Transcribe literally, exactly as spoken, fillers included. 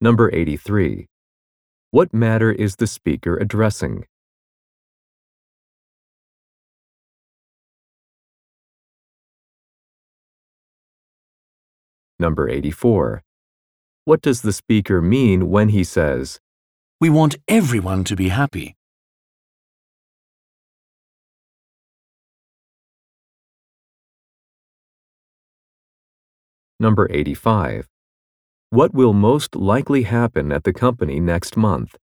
Number eighty-three. What matter is the speaker addressing? Number eighty-four. What does the speaker mean when he says, "We want everyone to be happy"? Number eighty-five. What will most likely happen at the company next month?